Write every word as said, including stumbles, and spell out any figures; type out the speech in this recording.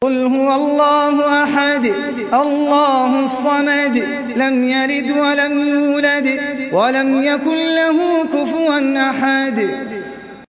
قل هو الله أحد الله الصمد لم يلد ولم يولد ولم يكن له كفوا أحد